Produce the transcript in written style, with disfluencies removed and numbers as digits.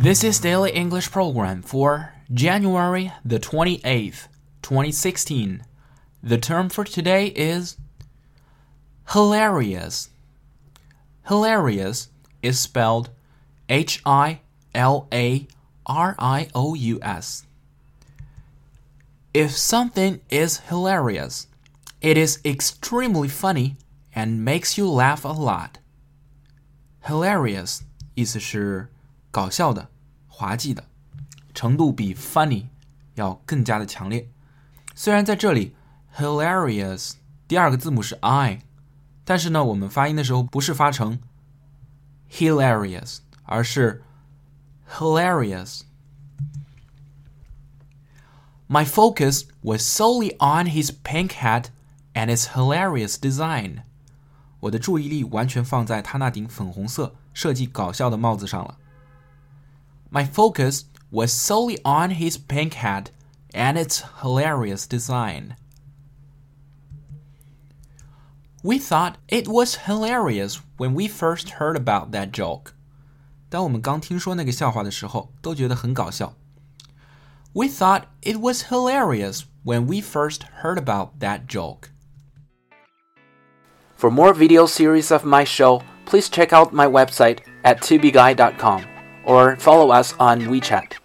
This is Daily English Program for January the 28th, 2016. The term for today is hilarious. Hilarious is spelled Hilarious. If something is hilarious, it is extremely funny and makes you laugh a lot. Hilarious 意思是搞笑的、滑稽的，程度比 funny 要更加的强烈。虽然在这里 hilarious 第二个字母是 I， 但是呢，我们发音的时候不是发成 hilarious， 而是 hilarious。My focus was solely on his pink hat and its hilarious design. 我的注意力完全放在他那顶粉红色、设计搞笑的帽子上了。My focus was solely on his pink hat and its hilarious design. We thought it was hilarious when we first heard about that joke. 当我们刚听说那个笑话的时候，都觉得很搞笑。We thought it was hilarious when we first heard about that joke. For more video series of my show, please check out my website at tubeguy.com or follow us on WeChat.